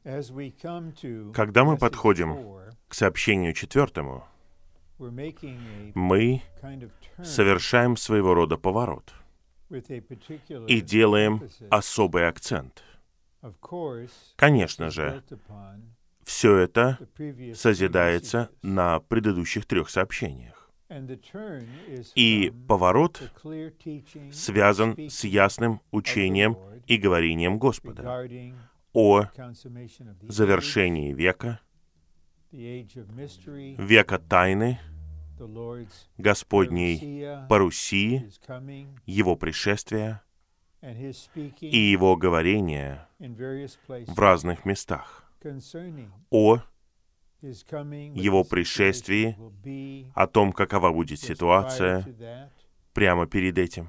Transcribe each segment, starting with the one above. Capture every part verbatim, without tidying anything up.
Когда мы подходим к сообщению четвертому, мы совершаем своего рода поворот и делаем особый акцент. Конечно же, все это созидается на предыдущих трех сообщениях. И поворот связан с ясным учением и говорением Господа о завершении века, века тайны, Господней парусии, Его пришествия и Его говорения в разных местах о Его пришествии, о том, какова будет ситуация прямо перед этим.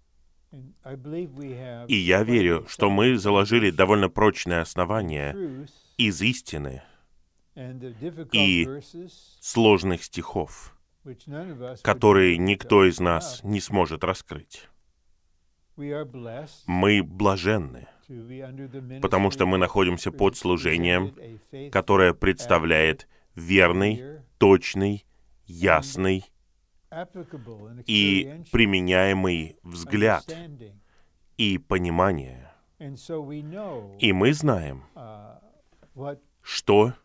И я верю, что мы заложили довольно прочное основание из истины и сложных стихов, которые никто из нас не сможет раскрыть. Мы блаженны, потому что мы находимся под служением, которое представляет верный, точный, ясный и применяемый взгляд и понимание. И мы знаем, что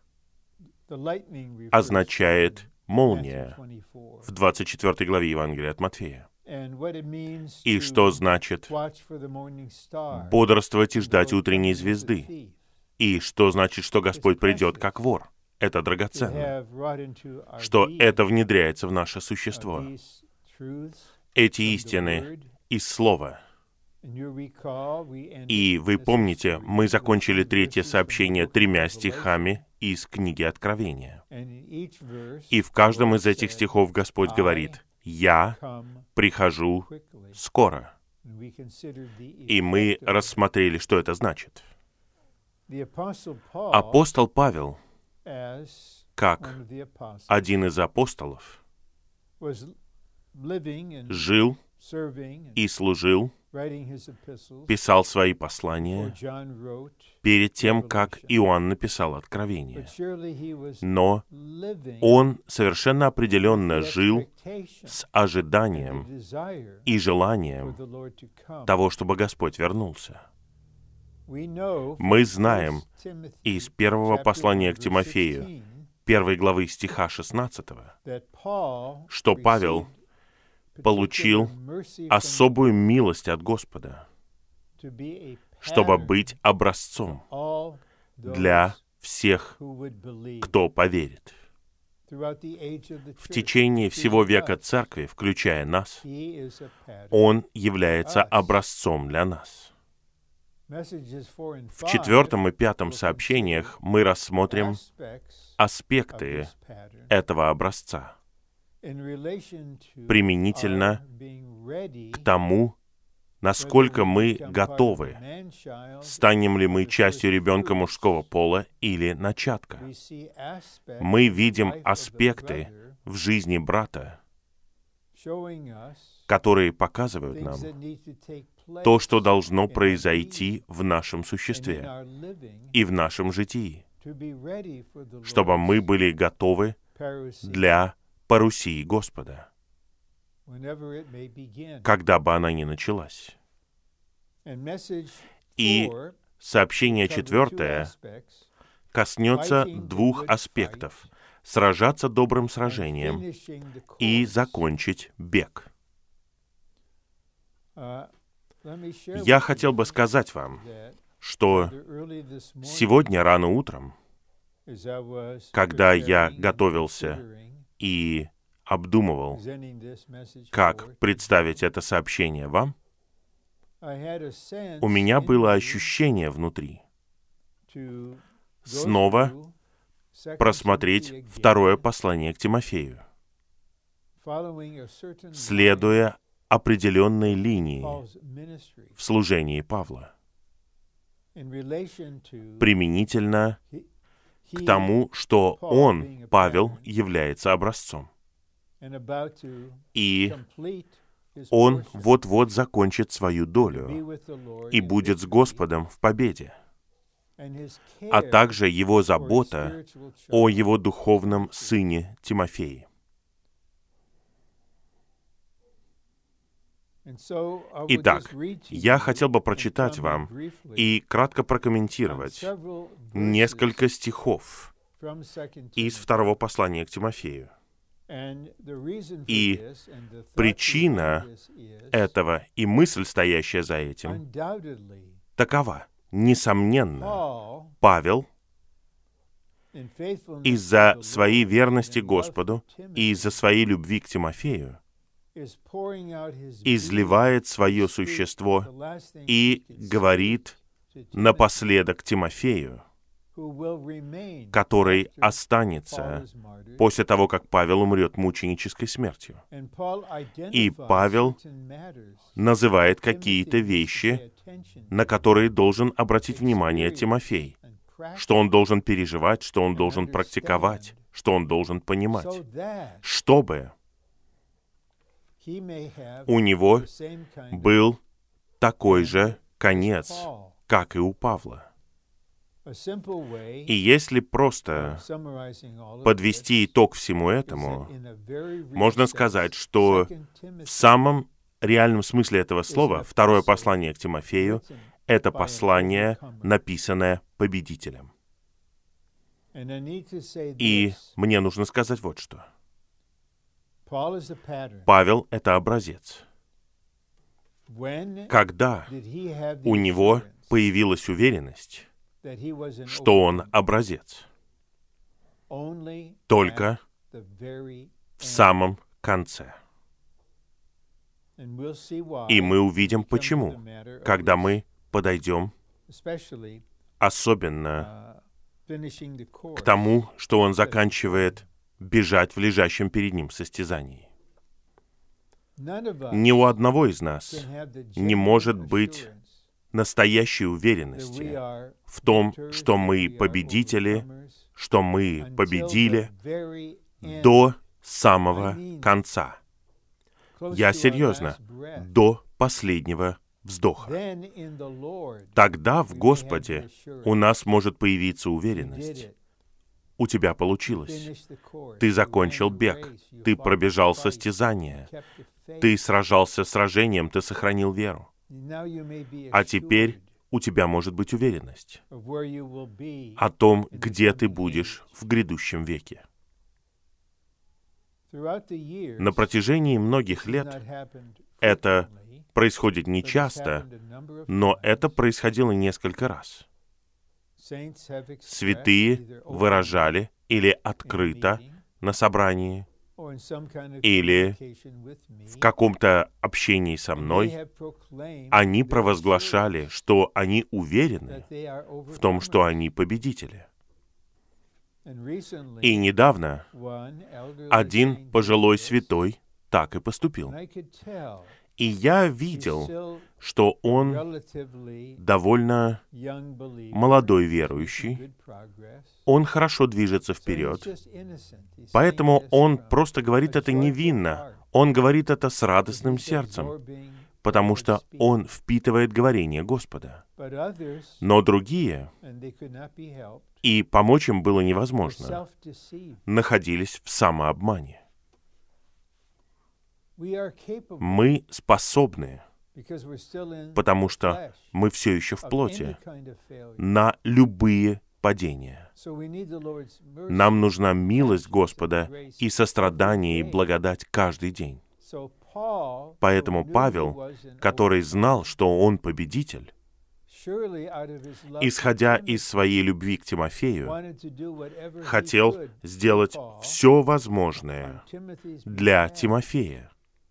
означает молния в двадцать четвёртой главе Евангелия от Матфея. И что значит бодрствовать и ждать утренней звезды. И что значит, что Господь придет как вор. Это драгоценно. Что это внедряется в наше существо. Эти истины из Слова. И вы помните, мы закончили третье сообщение тремя стихами из книги Откровения. И в каждом из этих стихов Господь говорит: «Я прихожу скоро». И мы рассмотрели, что это значит. Апостол Павел, как один из апостолов, жил и служил, писал свои послания перед тем, как Иоанн написал Откровение. Но он совершенно определенно жил с ожиданием и желанием того, чтобы Господь вернулся. Мы знаем из первого послания к Тимофею, первой главы стиха шестнадцатого, что Павел получил особую милость от Господа, чтобы быть образцом для всех, кто поверит. В течение всего века Церкви, включая нас, Он является образцом для нас. В четвертом и пятом сообщениях мы рассмотрим аспекты этого образца применительно к тому, насколько мы готовы, станем ли мы частью ребенка мужского пола или начатка. Мы видим аспекты в жизни брата, которые показывают нам то, что должно произойти в нашем существе и в нашем житии, чтобы мы были готовы для парусии Господа, когда бы она ни началась. И сообщение четвертое коснется двух аспектов: сражаться добрым сражением и закончить бег. Я хотел бы сказать вам, что сегодня рано утром, когда я готовился и обдумывал, как представить это сообщение вам, у меня было ощущение внутри снова просмотреть второе послание к Тимофею, следуя определенной линии в служении Павла, применительно к тому, что он, Павел, является образцом. И он вот-вот закончит свою долю и будет с Господом в победе. а также его забота о его духовном сыне Тимофее. Итак, я хотел бы прочитать вам и кратко прокомментировать несколько стихов из второго послания к Тимофею. И причина этого и мысль, стоящая за этим, такова. Несомненно, Павел из-за своей верности Господу и из-за своей любви к Тимофею изливает свое существо и говорит напоследок Тимофею, который останется после того, как Павел умрет мученической смертью. И Павел называет какие-то вещи, на которые должен обратить внимание Тимофей, что он должен переживать, что он должен практиковать, что он должен понимать, чтобы у него был такой же конец, как и у Павла. И если просто подвести итог всему этому, можно сказать, что в самом реальном смысле этого слова второе послание к Тимофею — это послание, написанное победителем. И мне нужно сказать вот что. Павел — это образец. Когда у него появилась уверенность, что он образец? Только в самом конце. И мы увидим, почему, когда мы подойдем, особенно к тому, что он заканчивает бежать в лежащем перед ним состязании. Ни у одного из нас не может быть настоящей уверенности в том, что мы победители, что мы победили до самого конца. Я серьезно, до последнего вздоха. Тогда в Господе у нас может появиться уверенность. У тебя получилось. Ты закончил бег. Ты пробежал состязание. Ты сражался сражением, ты сохранил веру. А теперь у тебя может быть уверенность о том, где ты будешь в грядущем веке. На протяжении многих лет это происходит нечасто, но это происходило несколько раз. Святые выражали или открыто на собрании, или в каком-то общении со мной, они провозглашали, что они уверены в том, что они победители. И недавно один пожилой святой так и поступил. И я видел, что он довольно молодой верующий, он хорошо движется вперед, поэтому он просто говорит это невинно, он говорит это с радостным сердцем, потому что он впитывает говорение Господа. Но другие, и помочь им было невозможно, находились в самообмане. Мы способны, потому что мы все еще в плоти, на любые падения. Нам нужна милость Господа и сострадание и благодать каждый день. Поэтому Павел, который знал, что он победитель, исходя из своей любви к Тимофею, хотел сделать все возможное для Тимофея.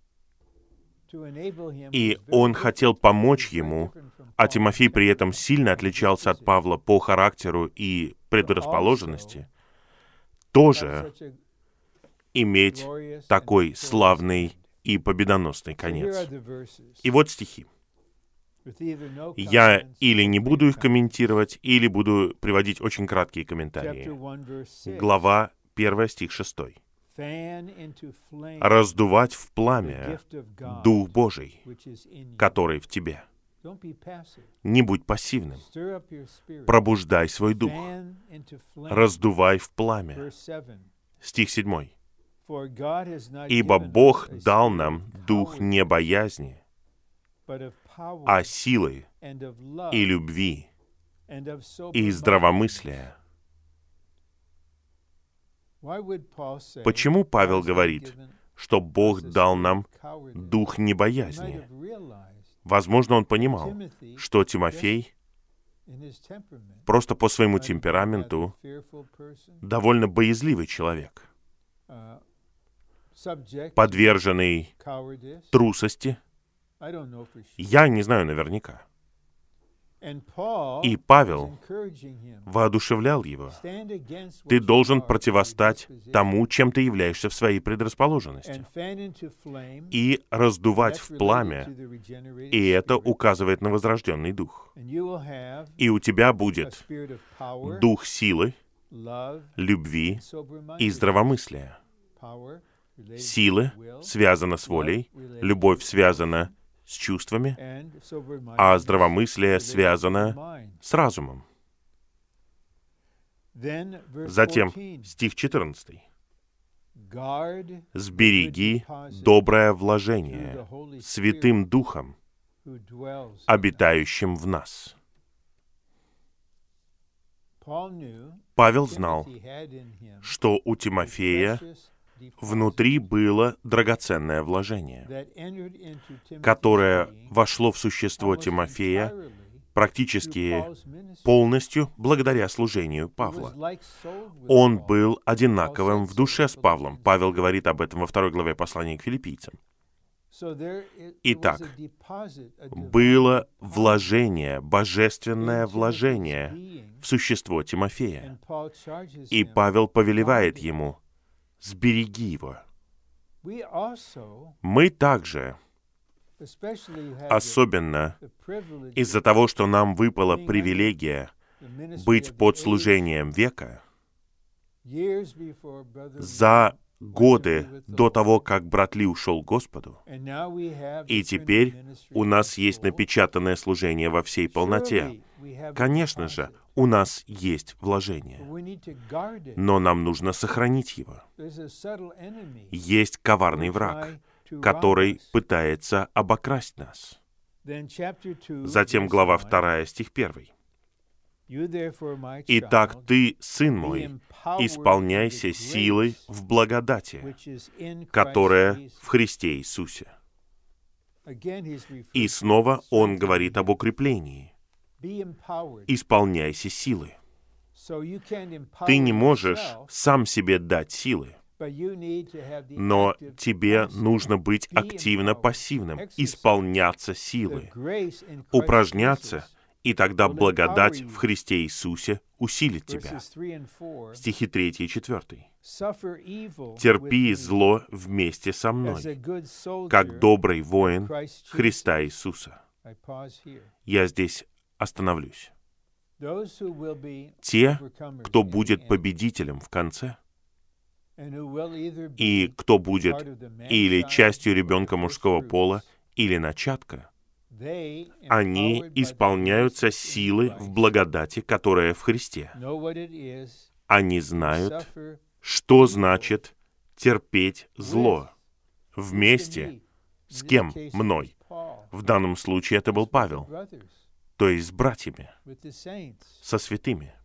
И он хотел помочь ему, а Тимофей при этом сильно отличался от Павла по характеру и предрасположенности, тоже иметь такой славный и победоносный конец. И вот стихи. Я или не буду их комментировать, или буду приводить очень краткие комментарии. Глава первая, стих шестой. «Раздувать в пламя Дух Божий, который в тебе». Не будь пассивным. Пробуждай свой дух. Раздувай в пламя. Стих седьмой. «Ибо Бог дал нам дух не боязни, а силы и любви и здравомыслия». Почему Павел говорит, что Бог дал нам дух не боязни? Возможно, он понимал, что Тимофей просто по своему темпераменту довольно боязливый человек, подверженный трусости. Я не знаю наверняка. И Павел воодушевлял его. Ты должен противостать тому, чем ты являешься в своей предрасположенности, и раздувать в пламя, и это указывает на возрожденный дух. И у тебя будет дух силы, любви и здравомыслия. Сила связана с волей, любовь связана с чувствами, а здравомыслие связано с разумом. Затем стих четырнадцатый. «Сбереги доброе вложение Святым Духом, обитающим в нас». Павел знал, что у Тимофея внутри было драгоценное вложение, которое вошло в существо Тимофея практически полностью благодаря служению Павла. Он был одинаковым в душе с Павлом. Павел говорит об этом во второй главе послания к филиппийцам. Итак, было вложение, божественное вложение в существо Тимофея. И Павел повелевает ему: сбереги его. Мы также, особенно из-за того, что нам выпала привилегия быть под служением века, за годы до того, как брат Ли ушел к Господу, и теперь у нас есть напечатанное служение во всей полноте. Конечно же, у нас есть вложение, но нам нужно сохранить его. Есть коварный враг, который пытается обокрасть нас. Затем глава вторая, стих первый. «Итак, ты, сын мой, исполняйся силой в благодати, которая в Христе Иисусе». И снова он говорит об укреплении. Исполняйся силы. Ты не можешь сам себе дать силы, но тебе нужно быть активно пассивным, исполняться силы, упражняться, и тогда благодать в Христе Иисусе усилит тебя. Стихи третий и четвертый. «Терпи зло вместе со мной, как добрый воин Христа Иисуса». Я здесь остановлюсь. Те, кто будет победителем в конце, и кто будет или частью ребенка мужского пола, или начатка, они исполняются силы в благодати, которая в Христе. Они знают, что значит терпеть зло вместе с кем? Мной. В данном случае это был Павел, то есть с братьями, со святыми.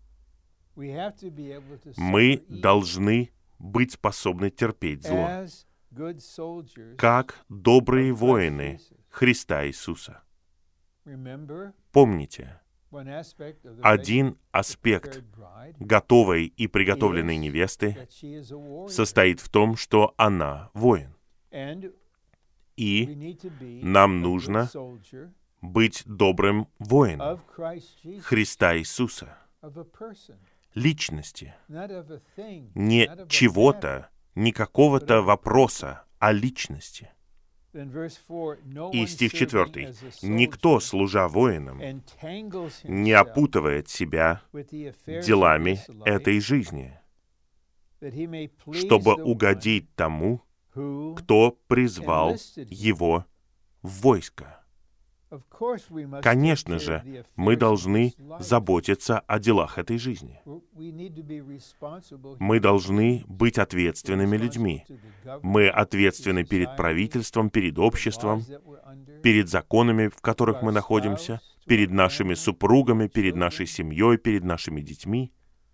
Мы должны быть способны терпеть зло, как добрые воины Христа Иисуса. Помните, один аспект готовой и приготовленной невесты состоит в том, что она воин. И нам нужно быть добрым воином Христа Иисуса, личности, не чего-то, не какого-то вопроса, а личности. И стих четвертый. «Никто, служа воином, не опутывает себя делами этой жизни, чтобы угодить тому, кто призвал его в войско». Конечно же, мы должны заботиться о делах этой жизни. Мы должны быть ответственными людьми. Мы ответственны перед правительством, перед обществом, перед законами, в которых мы находимся, перед нашими супругами, перед нашей семьей, перед нашими детьми.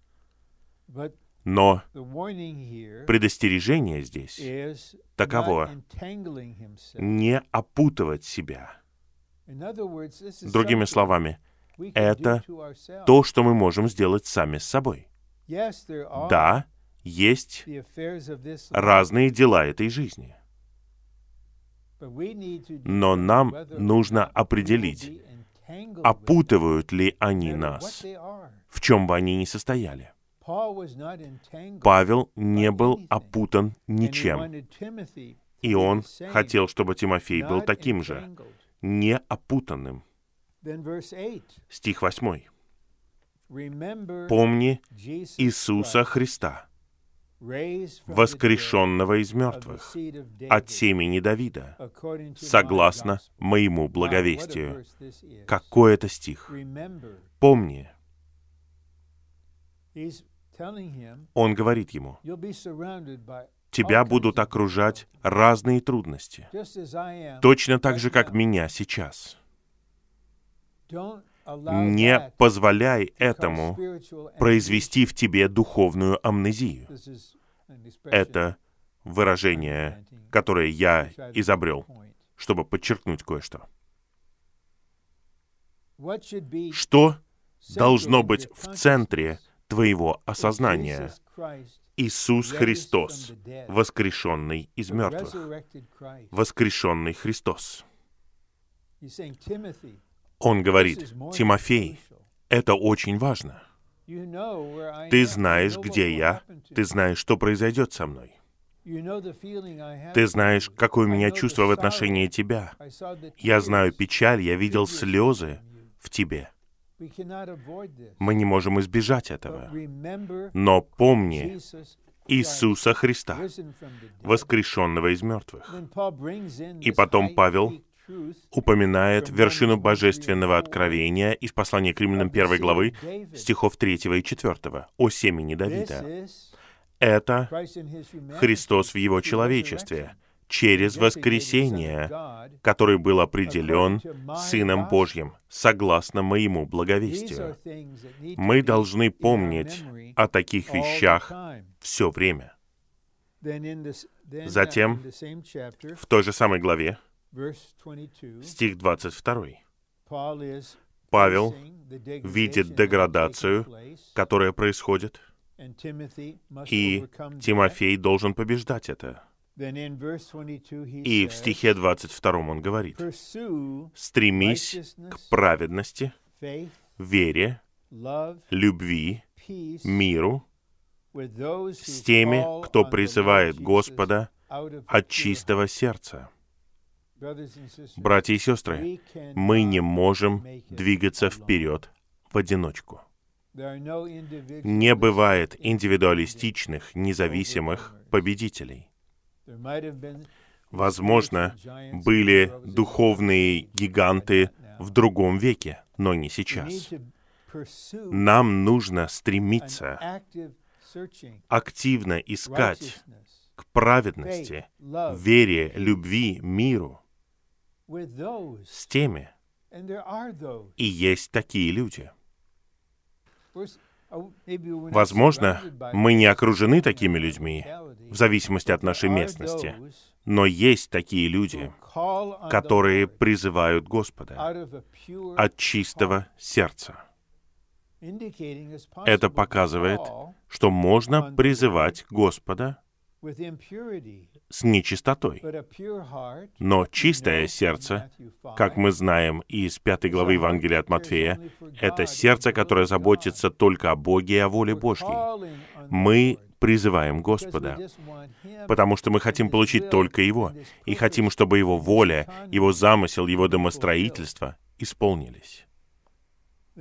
Но предостережение здесь таково: не опутывать себя. Другими словами, это то, что мы можем сделать сами с собой. Да, есть разные дела этой жизни. Но нам нужно определить, опутывают ли они нас, в чем бы они ни состояли. Павел не был опутан ничем, и он хотел, чтобы Тимофей был таким же, не опутанным. Стих восьмой. «Помни Иисуса Христа, воскрешенного из мертвых, от семени Давида, согласно моему благовестию». Какой это стих? Помни. Он говорит ему: тебя будут окружать разные трудности, точно так же, как меня сейчас. Не позволяй этому произвести в тебе духовную амнезию. Это выражение, которое я изобрел, чтобы подчеркнуть кое-что. Что должно быть в центре твоего осознания? Иисус Христос, воскрешенный из мертвых. Воскрешенный Христос. Он говорит: Тимофей, это очень важно. Ты знаешь, где я, ты знаешь, что произойдет со мной. Ты знаешь, какое у меня чувство в отношении тебя. Я знаю печаль, я видел слезы в тебе. Мы не можем избежать этого. Но помни Иисуса Христа, воскрешенного из мертвых. И потом Павел упоминает вершину божественного откровения из послания к Римлянам первой главы, стихов третьего и четвёртого, о семени Давида. Это Христос в Его человечестве, через воскресение, который был определен Сыном Божьим, согласно моему благовестию. Мы должны помнить о таких вещах все время. Затем, в той же самой главе, стих двадцать второй, Павел видит деградацию, которая происходит, и Тимофей должен побеждать это. И в стихе двадцать втором он говорит: «Стремись к праведности, вере, любви, миру с теми, кто призывает Господа от чистого сердца». Братья и сестры, мы не можем двигаться вперед в одиночку. Не бывает индивидуалистичных, независимых победителей. Возможно, были духовные гиганты в другом веке, но не сейчас. Нам нужно стремиться активно искать к праведности, вере, любви, миру с теми. И есть такие люди. Возможно, мы не окружены такими людьми, в зависимости от нашей местности, но есть такие люди, которые призывают Господа от чистого сердца. Это показывает, что можно призывать Господа с нечистотой. Но чистое сердце, как мы знаем из пятой главы Евангелия от Матфея, это сердце, которое заботится только о Боге и о воле Божьей. Мы призываем Господа, потому что мы хотим получить только Его, и хотим, чтобы Его воля, Его замысел, Его домостроительство исполнились.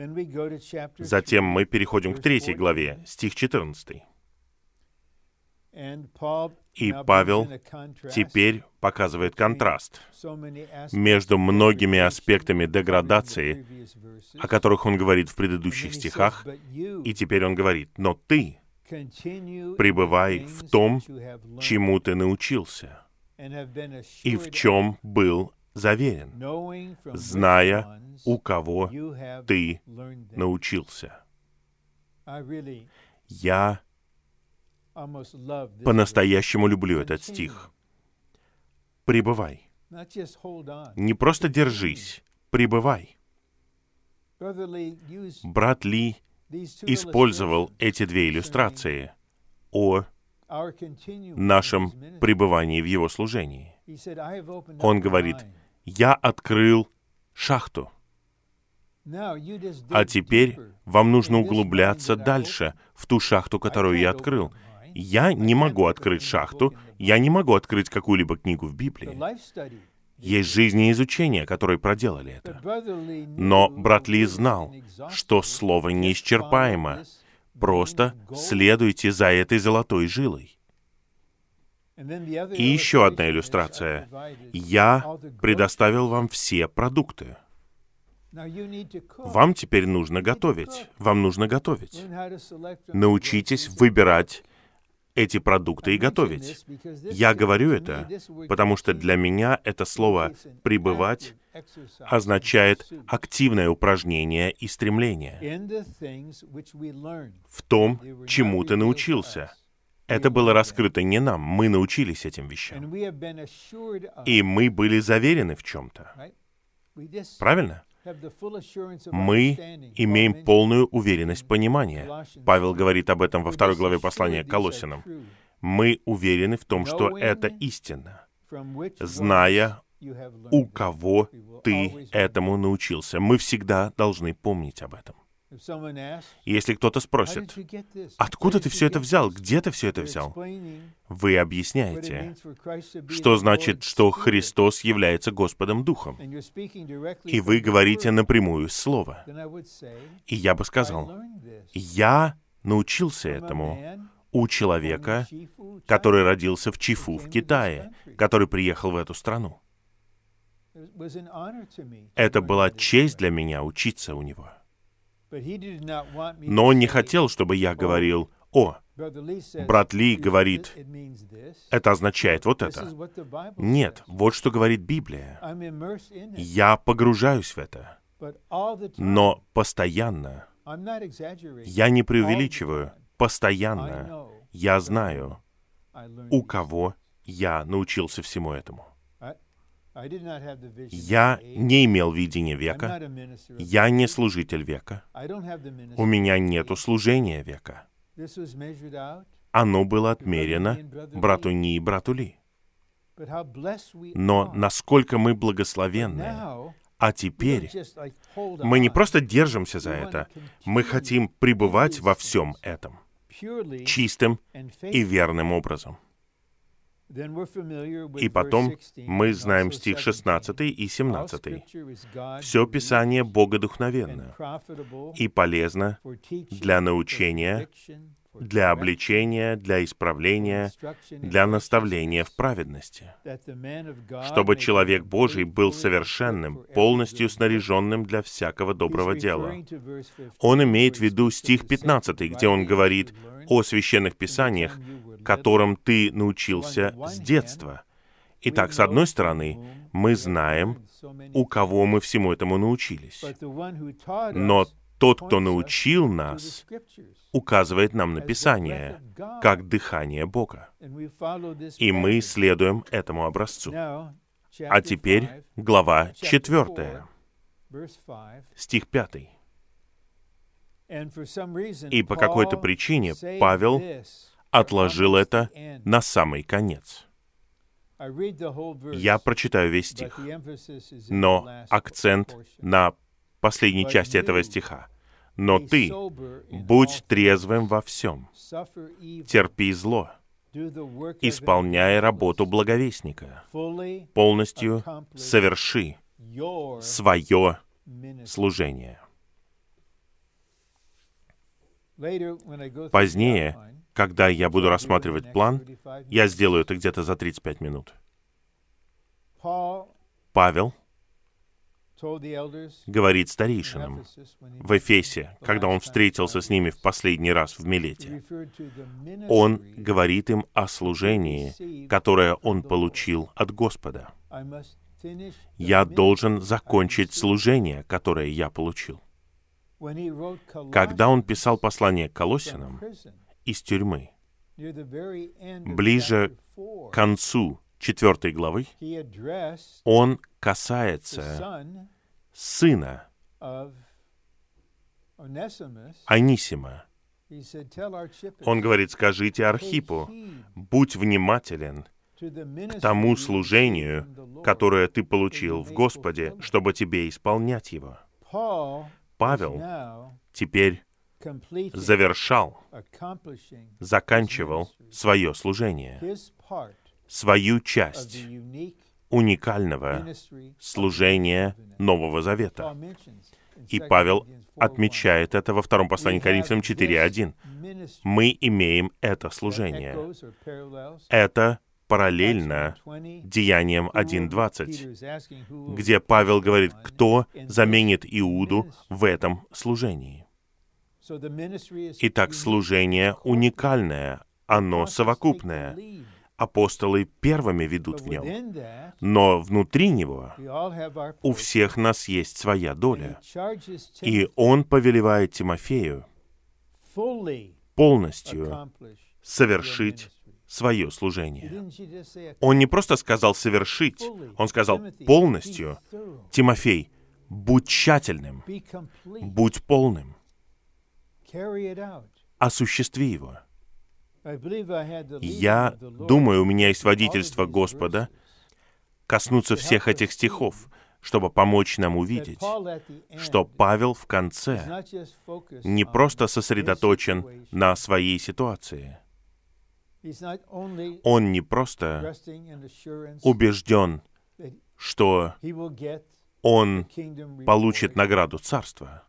Затем мы переходим к третьей главе, стих четырнадцатый. И Павел теперь показывает контраст между многими аспектами деградации, о которых он говорит в предыдущих стихах, и теперь он говорит: «Но ты пребывай в том, чему ты научился, и в чем был заверен, зная, у кого ты научился». Я по-настоящему люблю этот стих. Пребывай. Не просто держись, пребывай. Брат Ли использовал эти две иллюстрации о нашем пребывании в его служении. Он говорит: «Я открыл шахту, а теперь вам нужно углубляться дальше в ту шахту, которую я открыл. Я не могу открыть шахту, я не могу открыть какую-либо книгу в Библии. Есть жизнеизучение, которые проделали это. Но брат Ли знал, что слово неисчерпаемо. Просто следуйте за этой золотой жилой». И еще одна иллюстрация. «Я предоставил вам все продукты». Вам теперь нужно готовить. Вам нужно готовить. Научитесь выбирать эти продукты и готовить. Я говорю это, потому что для меня это слово «пребывать» означает активное упражнение и стремление в том, чему ты научился. Это было раскрыто не нам, мы научились этим вещам. И мы были заверены в чем-то. Правильно? Мы имеем полную уверенность понимания. Павел говорит об этом во второй главе послания к Колоссянам. Мы уверены в том, что это истина, зная, у кого ты этому научился. Мы всегда должны помнить об этом. Если кто-то спросит: «Откуда ты все это взял? Где ты все это взял?» Вы объясняете, что значит, что Христос является Господом Духом. И вы говорите напрямую Слово. И я бы сказал: «Я научился этому у человека, который родился в Чифу в Китае, который приехал в эту страну. Это была честь для меня учиться у него». Но он не хотел, чтобы я говорил: «О, брат Ли говорит, это означает вот это». Нет, вот что говорит Библия. Я погружаюсь в это, но постоянно, я не преувеличиваю, постоянно я знаю, у кого я научился всему этому. Я не имел видения века, я не служитель века, у меня нету служения века. Оно было отмерено брату Ни и брату Ли. Но насколько мы благословенны, а теперь мы не просто держимся за это, мы хотим пребывать во всем этом чистым и верным образом. И потом мы знаем стих шестнадцатый и семнадцатый. «Все Писание богодухновенно и полезно для научения, для обличения, для исправления, для наставления в праведности, чтобы человек Божий был совершенным, полностью снаряженным для всякого доброго дела». Он имеет в виду стих пятнадцатый, где он говорит о священных писаниях, которым ты научился с детства. Итак, с одной стороны, мы знаем, у кого мы всему этому научились. Но тот, кто научил нас, указывает нам на Писание, как дыхание Бога. И мы следуем этому образцу. А теперь глава четвертая, стих пятый. И по какой-то причине Павел отложил это на самый конец. Я прочитаю весь стих, но акцент на последней части этого стиха. «Но ты будь трезвым во всем, терпи зло, исполняя работу благовестника, полностью соверши свое служение». Позднее, Когда я буду рассматривать план, я сделаю это где-то за тридцать пять минут. Павел говорит старейшинам в Эфесе, когда он встретился с ними в последний раз в Милете. Он говорит им о служении, которое он получил от Господа. Я должен закончить служение, которое я получил. Когда он писал послание к Колоссянам из тюрьмы, ближе к концу четвертой главы, он касается сына Онисима. Он говорит: скажите Архипу, будь внимателен к тому служению, которое ты получил в Господе, чтобы тебе исполнять его. Павел теперь завершал, заканчивал свое служение, свою часть уникального служения Нового Завета. И Павел отмечает это во втором послании к Коринфянам четыре один. Мы имеем это служение. Это параллельно Деяниям один двадцать, где Павел говорит, кто заменит Иуду в этом служении. Итак, служение уникальное, оно совокупное. Апостолы первыми ведут в нем, но внутри него у всех нас есть своя доля. И он повелевает Тимофею полностью совершить свое служение. Он не просто сказал «совершить», он сказал полностью. Тимофей, будь тщательным, будь полным, осуществи его. Я думаю, у меня есть водительство Господа коснуться всех этих стихов, чтобы помочь нам увидеть, что Павел в конце не просто сосредоточен на своей ситуации. Он не просто убежден, что он получит награду царства.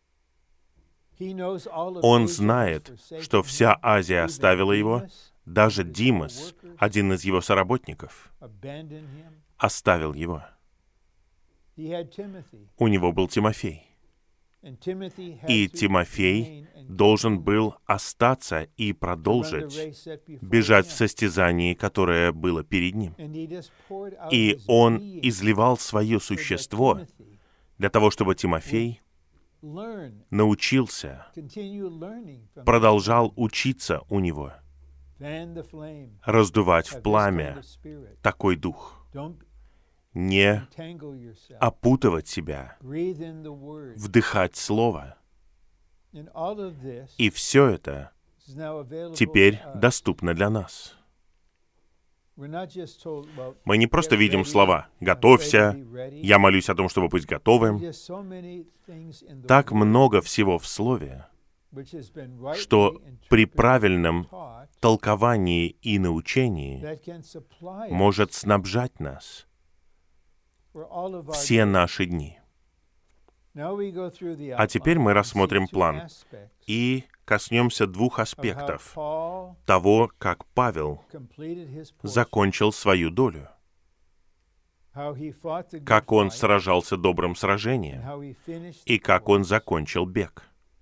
Он знает, что вся Азия оставила его, даже Димас, один из его соработников, оставил его. У него был Тимофей. И Тимофей должен был остаться и продолжить бежать в состязании, которое было перед ним. И он изливал свое существо для того, чтобы Тимофей научился, продолжал учиться у него, раздувать в пламя такой дух, не опутывать себя, вдыхать Слово. И все это теперь доступно для нас. Мы не просто видим слова «готовься», «я молюсь о том, чтобы быть готовым». Так много всего в Слове, что при правильном толковании и научении может снабжать нас все наши дни. А теперь мы рассмотрим план и коснемся двух аспектов того, как Павел закончил свою долю, как он сражался добрым сражением и как он закончил бег.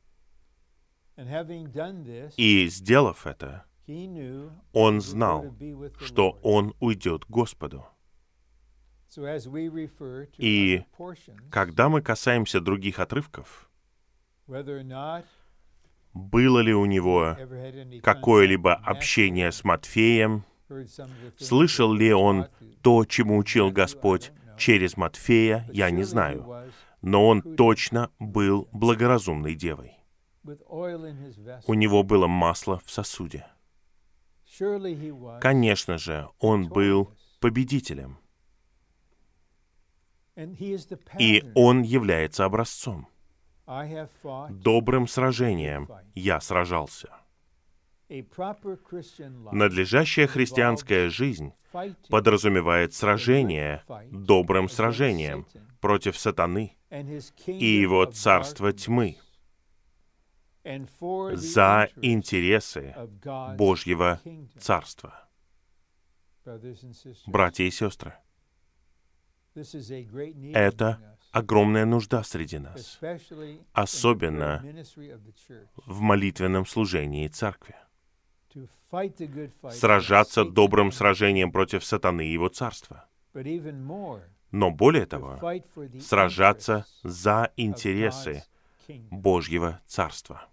И, сделав это, он знал, что он уйдет к Господу. И когда мы касаемся других отрывков, было ли у него какое-либо общение с Матфеем, слышал ли он то, чему учил Господь через Матфея, я не знаю, но он точно был благоразумной девой. У него было масло в сосуде. Конечно же, он был победителем. И он является образцом. Добрым сражением я сражался. Надлежащая христианская жизнь подразумевает сражение добрым сражением против сатаны и его царства тьмы. за интересы Божьего Царства. Братья и сестры, это огромная нужда среди нас, особенно в молитвенном служении Церкви. Сражаться добрым сражением против сатаны и его царства. Но более того, сражаться за интересы Божьего Царства.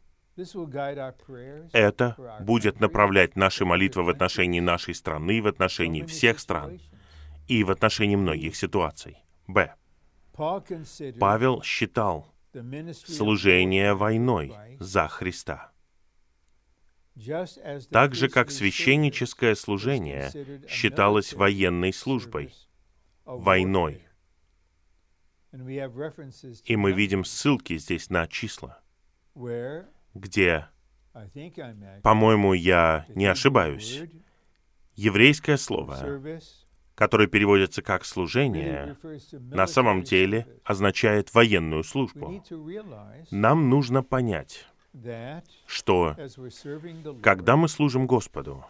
Это будет направлять наши молитвы в отношении нашей страны, в отношении всех стран и в отношении многих ситуаций. Б. Павел считал служение войной за Христа. Так же, как священническое служение считалось военной службой, войной. И мы видим ссылки здесь на числа, где, по-моему, я не ошибаюсь, еврейское слово, которое переводится как «служение», на самом деле означает военную службу. Нам нужно понять, что когда мы служим Господу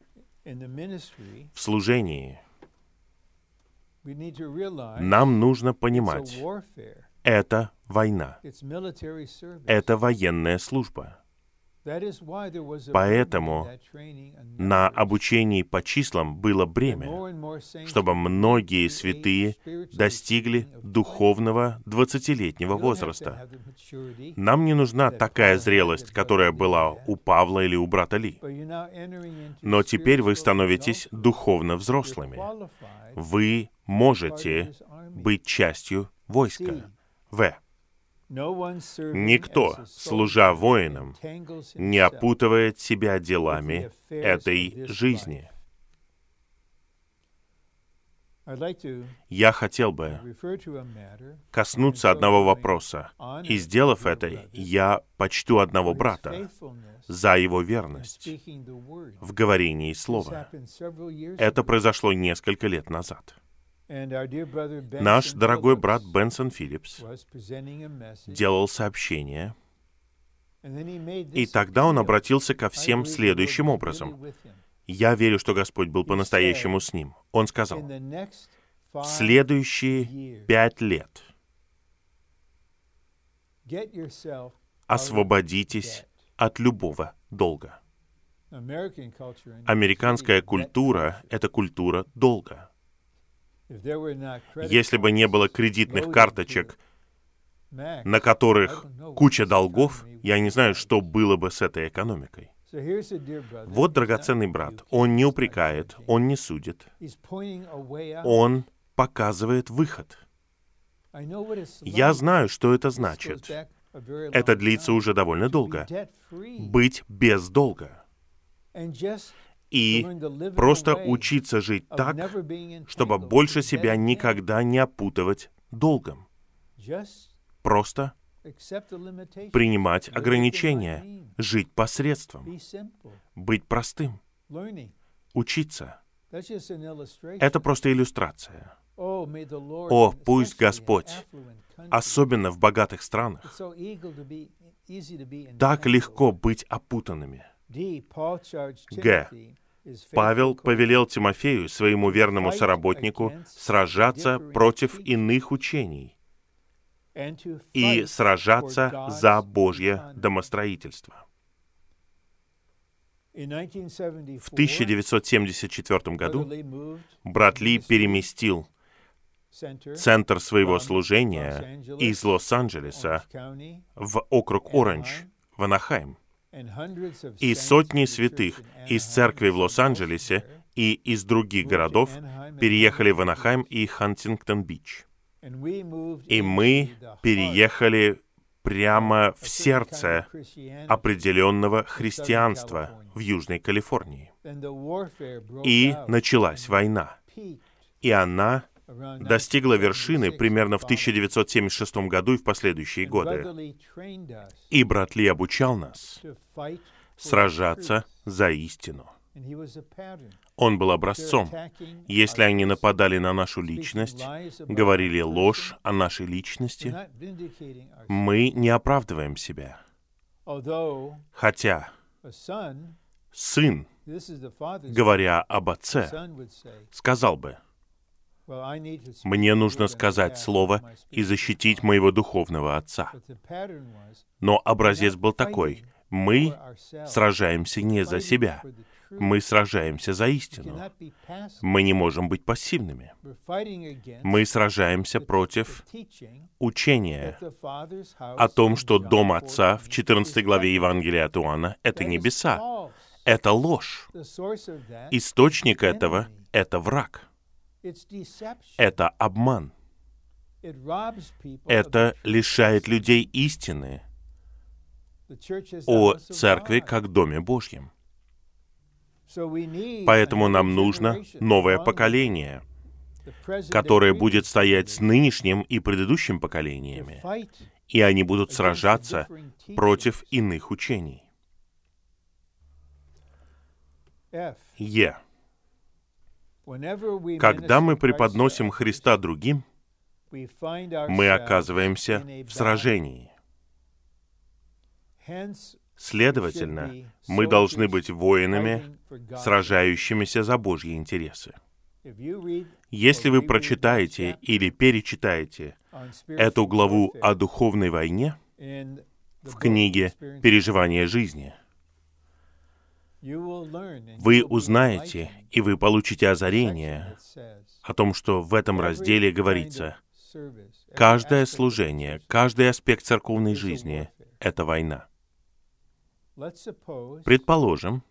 в служении, нам нужно понимать, это война, это военная служба. Поэтому на обучении по числам было бремя, чтобы многие святые достигли духовного двадцатилетнего возраста. Нам не нужна такая зрелость, которая была у Павла или у брата Ли. Но теперь вы становитесь духовно взрослыми. Вы можете быть частью войска. В. Никто, служа воинам, не опутывает себя делами этой жизни. Я хотел бы коснуться одного вопроса, и, сделав это, я почту одного брата за его верность в говорении слова. Это произошло несколько лет назад. Наш дорогой брат Бенсон Филлипс делал сообщение, и тогда он обратился ко всем следующим образом. Я верю, что Господь был по-настоящему с ним. Он сказал, в следующие пять лет освободитесь от любого долга. Американская культура — это культура долга. Если бы не было кредитных карточек, на которых куча долгов, я не знаю, что было бы с этой экономикой. Вот драгоценный брат. Он не упрекает, он не судит. Он показывает выход. Я знаю, что это значит. Это длится уже довольно долго. Быть без долга. И просто учиться жить так, чтобы больше себя никогда не опутывать долгом. Просто принимать ограничения, жить посредством, быть простым, учиться. Это просто иллюстрация. О, пусть Господь, особенно в богатых странах, так легко быть опутанными. Г. Павел повелел Тимофею, своему верному соработнику, сражаться против иных учений и сражаться за Божье домостроительство. В тысяча девятьсот семьдесят четвёртом году брат Ли переместил центр своего служения из Лос-Анджелеса в округ Оранж, в Анахайм. И сотни святых из церкви в Лос-Анджелесе и из других городов переехали в Анахайм и Хантингтон-Бич. И мы переехали прямо в сердце определенного христианства в Южной Калифорнии. И началась война. И она достигла вершины примерно в тысяча девятьсот семьдесят шестом году и в последующие годы. И брат Ли обучал нас сражаться за истину. Он был образцом. Если они нападали на нашу личность, говорили ложь о нашей личности, мы не оправдываем себя. Хотя сын, говоря об отце, сказал бы: «Мне нужно сказать слово и защитить моего духовного отца». Но образец был такой: мы сражаемся не за себя, мы сражаемся за истину. Мы не можем быть пассивными. Мы сражаемся против учения о том, что дом Отца в четырнадцатой главе Евангелия от Иоанна — это небеса. Это ложь. Источник этого — это враг. Это обман. Это лишает людей истины о Церкви как Доме Божьем. Поэтому нам нужно новое поколение, которое будет стоять с нынешним и предыдущим поколениями, и они будут сражаться против иных учений. Е. Когда мы преподносим Христа другим, мы оказываемся в сражении. Следовательно, мы должны быть воинами, сражающимися за Божьи интересы. Если вы прочитаете или перечитаете эту главу о духовной войне в книге «Переживание жизни», вы узнаете и вы получите озарение о том, что в этом разделе говорится: каждое служение, каждый аспект церковной жизни — это война. Предположим,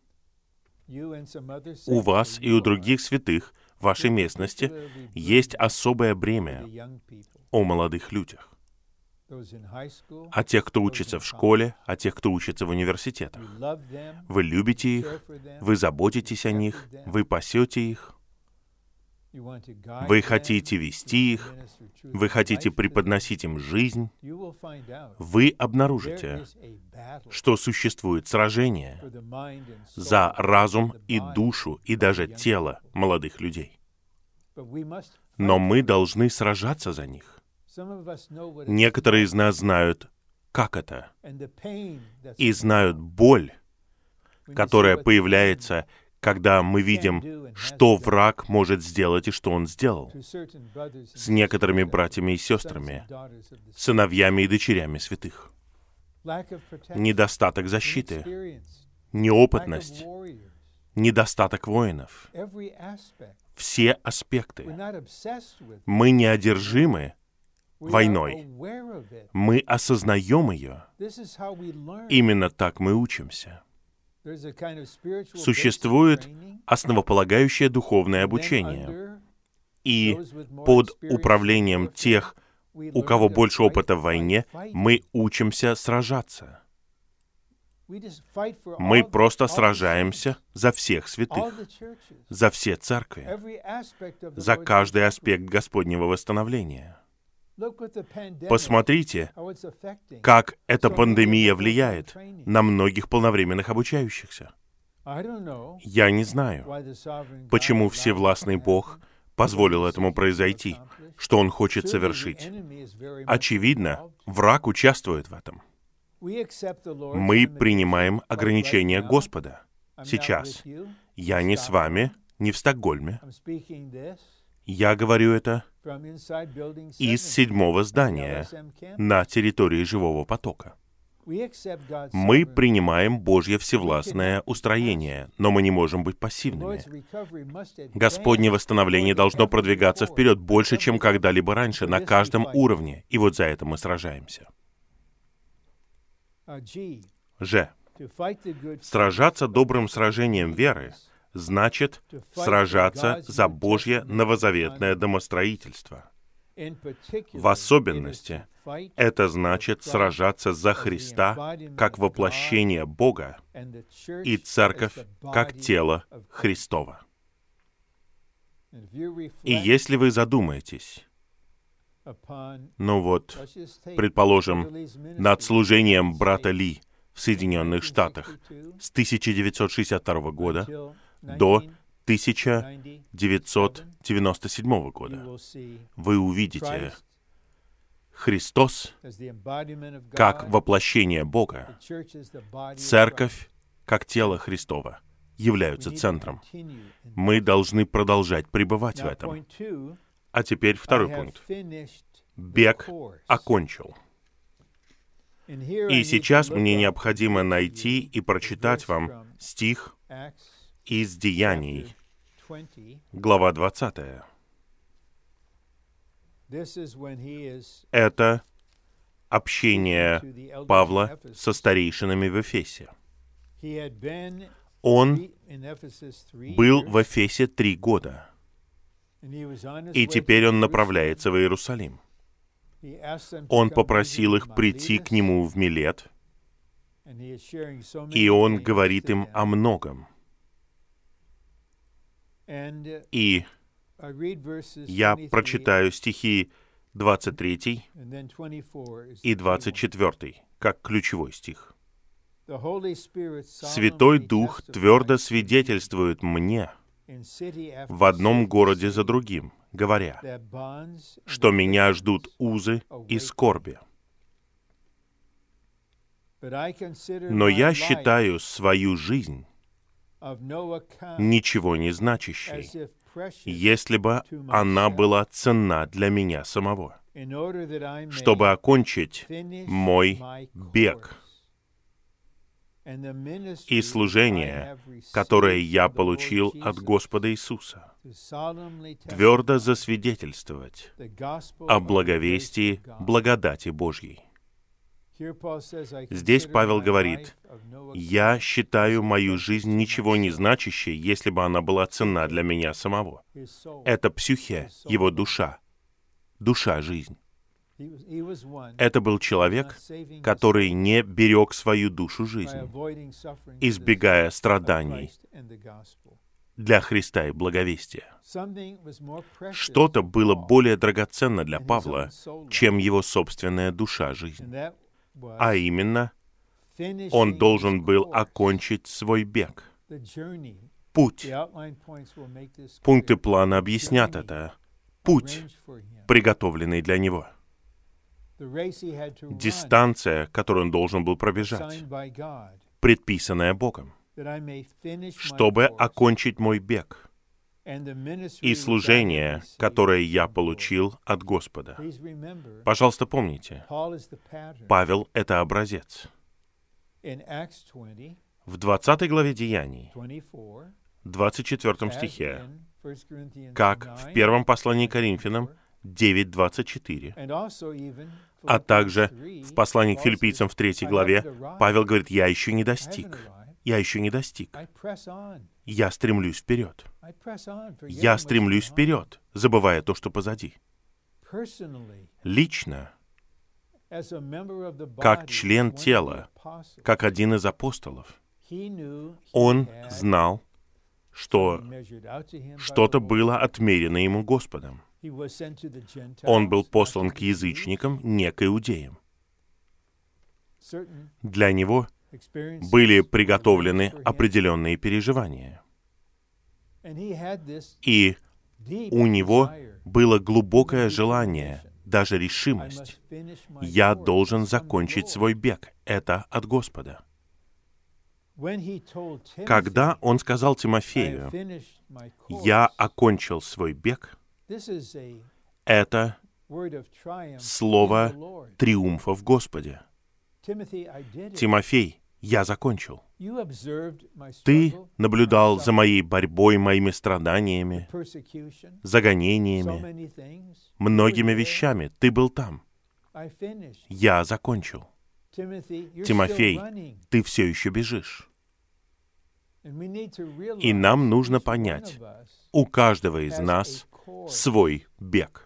у вас и у других святых в вашей местности есть особое бремя о молодых людях. О тех, кто учится в школе, о тех, кто учится в университетах. Вы любите их, вы заботитесь о них, вы пасете их, вы хотите вести их, вы хотите преподносить им жизнь. Вы обнаружите, что существует сражение за разум и душу, и даже тело молодых людей. Но мы должны сражаться за них. Некоторые из нас знают, как это, и знают боль, которая появляется, когда мы видим, что враг может сделать и что он сделал с некоторыми братьями и сестрами, сыновьями и дочерями святых. Недостаток защиты, неопытность, недостаток воинов. Все аспекты. Мы не одержимы войной. Мы осознаем ее. Именно так мы учимся. Существует основополагающее духовное обучение. И под управлением тех, у кого больше опыта в войне, мы учимся сражаться. Мы просто сражаемся за всех святых, за все церкви, за каждый аспект Господнего восстановления. Посмотрите, как эта пандемия влияет на многих полновременных обучающихся. Я не знаю, почему Всевластный Бог позволил этому произойти, что Он хочет совершить. Очевидно, враг участвует в этом. Мы принимаем ограничения Господа. Сейчас. Я не с вами, не в Стокгольме. Я говорю это из седьмого здания на территории Живого потока. Мы принимаем Божье всевластное устроение, но мы не можем быть пассивными. Господне восстановление должно продвигаться вперед больше, чем когда-либо раньше, на каждом уровне, и вот за это мы сражаемся. Ж. Сражаться добрым сражением веры значит сражаться за Божье новозаветное домостроительство. В особенности, это значит сражаться за Христа как воплощение Бога и Церковь как тело Христово. И если вы задумаетесь, ну вот, предположим, над служением брата Ли в Соединенных Штатах с тысяча девятьсот шестьдесят второго года до тысяча девятьсот девяносто седьмого года, вы увидите, Христос, как воплощение Бога, Церковь, как тело Христово, являются центром. Мы должны продолжать пребывать в этом. А теперь второй пункт. Бег окончил. И сейчас мне необходимо найти и прочитать вам стих из Деяний, глава двадцатая. Это общение Павла со старейшинами в Эфесе. Он был в Эфесе три года, и теперь он направляется в Иерусалим. Он попросил их прийти к нему в Милет, и он говорит им о многом. И я прочитаю стихи двадцать третий и двадцать четвёртый, как ключевой стих. «Святой Дух твердо свидетельствует мне в одном городе за другим, говоря, что меня ждут узы и скорби. Но я считаю свою жизнь ничего не значащей, если бы она была ценна для меня самого, чтобы окончить мой бег и служение, которое я получил от Господа Иисуса, твердо засвидетельствовать о благовестии благодати Божьей». Здесь Павел говорит: «Я считаю мою жизнь ничего не значащей, если бы она была ценна для меня самого». Это псюхе, его душа, душа-жизнь. Это был человек, который не берег свою душу жизни, избегая страданий для Христа и благовестия. Что-то было более драгоценно для Павла, чем его собственная душа-жизнь. А именно, он должен был окончить свой бег. Путь. Пункты плана объяснят это. Путь, приготовленный для него. Дистанция, которую он должен был пробежать, предписанная Богом, чтобы окончить мой бег и служение, которое я получил от Господа. Пожалуйста, помните, Павел — это образец. В двадцатой главе Деяний, двадцать четвёртом стихе, как в первом послании к Коринфянам девять двадцать четыре, а также в послании к Филиппийцам в третьей главе, Павел говорит: «Я еще не достиг, я еще не достиг. Я стремлюсь вперед. Я стремлюсь вперед, забывая то, что позади». Лично, как член тела, как один из апостолов, он знал, что что-то было отмерено ему Господом. Он был послан к язычникам, не к иудеям. Для него были приготовлены определенные переживания. И у него было глубокое желание, даже решимость. «Я должен закончить свой бег». Это от Господа. Когда он сказал Тимофею: «Я окончил свой бег», это слово триумфа в Господе. «Тимофей, я закончил. Ты наблюдал за моей борьбой, моими страданиями, загонениями, многими вещами. Ты был там. Я закончил. Тимофей, ты все еще бежишь». И нам нужно понять, у каждого из нас свой бег.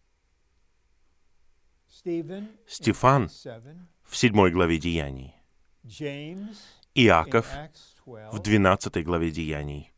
Стефан в седьмой главе Деяний, Иаков в двенадцатой главе Деяний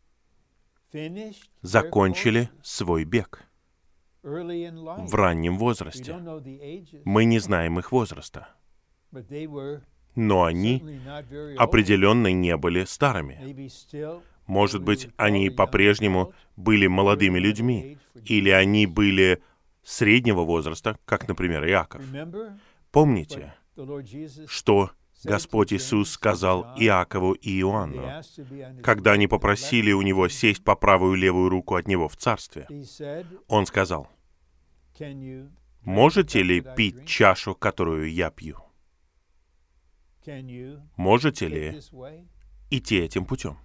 закончили свой бег в раннем возрасте. Мы не знаем их возраста, но они определенно не были старыми. Может быть, они по-прежнему были молодыми людьми, или они были среднего возраста, как, например, Иаков. Помните, что Господь Иисус сказал Иакову и Иоанну, когда они попросили у Него сесть по правую и левую руку от Него в Царстве? Он сказал: «Можете ли пить чашу, которую я пью? Можете ли идти этим путем?»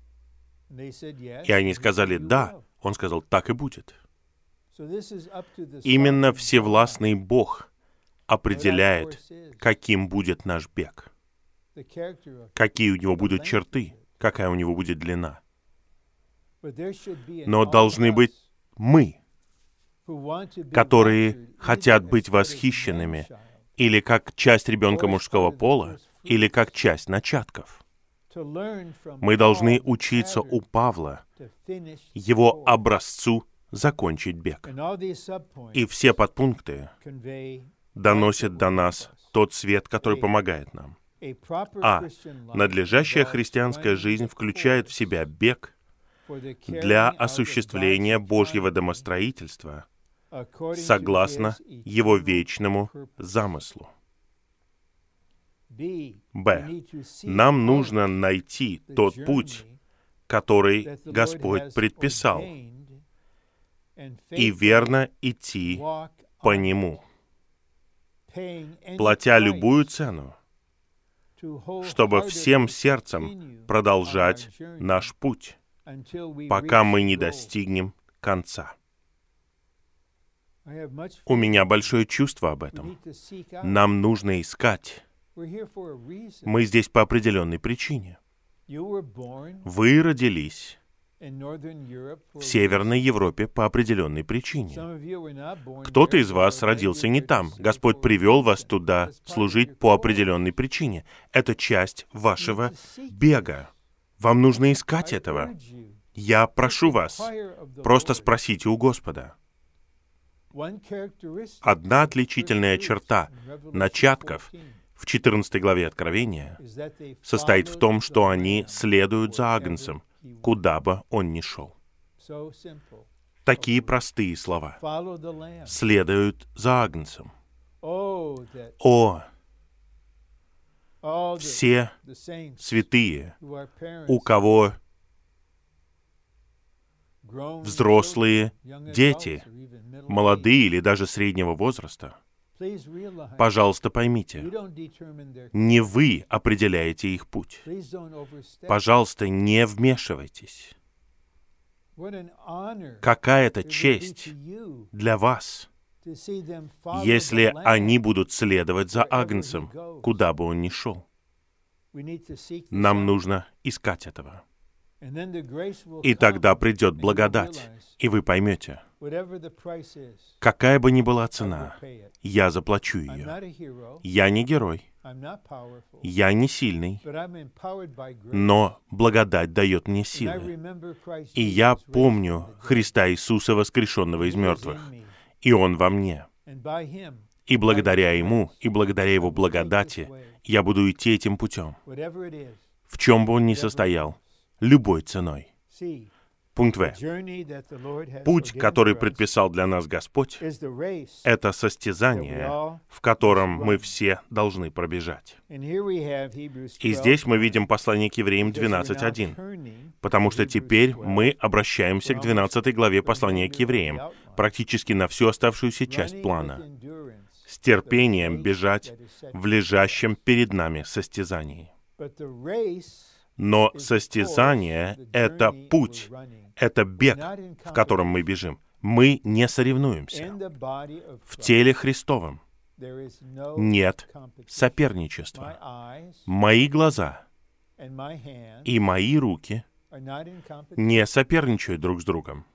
И они сказали: «Да». Он сказал: «Так и будет». Именно Всевластный Бог определяет, каким будет наш бег, какие у него будут черты, какая у него будет длина. Но должны быть мы, которые хотят быть восхищенными, или как часть ребенка мужского пола, или как часть начатков. Мы должны учиться у Павла, его образцу закончить бег. И все подпункты доносят до нас тот свет, который помогает нам. А. Надлежащая христианская жизнь включает в себя бег для осуществления Божьего домостроительства согласно Его вечному замыслу. Б. Нам нужно найти тот путь, который Господь предписал, и верно идти по нему, платя любую цену, чтобы всем сердцем продолжать наш путь, пока мы не достигнем конца. У меня большое чувство об этом. Нам нужно искать. Мы здесь по определенной причине. Вы родились в Северной Европе по определенной причине. Кто-то из вас родился не там. Господь привел вас туда служить по определенной причине. Это часть вашего бега. Вам нужно искать этого. Я прошу вас, просто спросите у Господа. Одна отличительная черта начатков в четырнадцатой главе Откровения состоит в том, что они следуют за Агнцем, куда бы он ни шел. Такие простые слова. Следуют за Агнцем. О, все святые, у кого взрослые дети, молодые или даже среднего возраста, пожалуйста, поймите, не вы определяете их путь. Пожалуйста, не вмешивайтесь. Какая это честь для вас, если они будут следовать за Агнцем, куда бы он ни шел. Нам нужно искать этого. И тогда придет благодать, и вы поймете, какая бы ни была цена, я заплачу ее. Я не герой, я не сильный, но благодать дает мне силы. И я помню Христа Иисуса, воскрешенного из мертвых, и Он во мне. И благодаря Ему, и благодаря Его благодати, я буду идти этим путем, в чем бы он ни состоял, любой ценой. Пункт В. Путь, который предписал для нас Господь, это состязание, в котором мы все должны пробежать. И здесь мы видим послание к Евреям двенадцать один, потому что теперь мы обращаемся к двенадцатой главе послания к Евреям, практически на всю оставшуюся часть плана. С терпением бежать в лежащем перед нами состязании. Но состязание — это путь, это бег, в котором мы бежим. Мы не соревнуемся. В теле Христовом нет соперничества. Мои глаза и мои руки не соперничают друг с другом.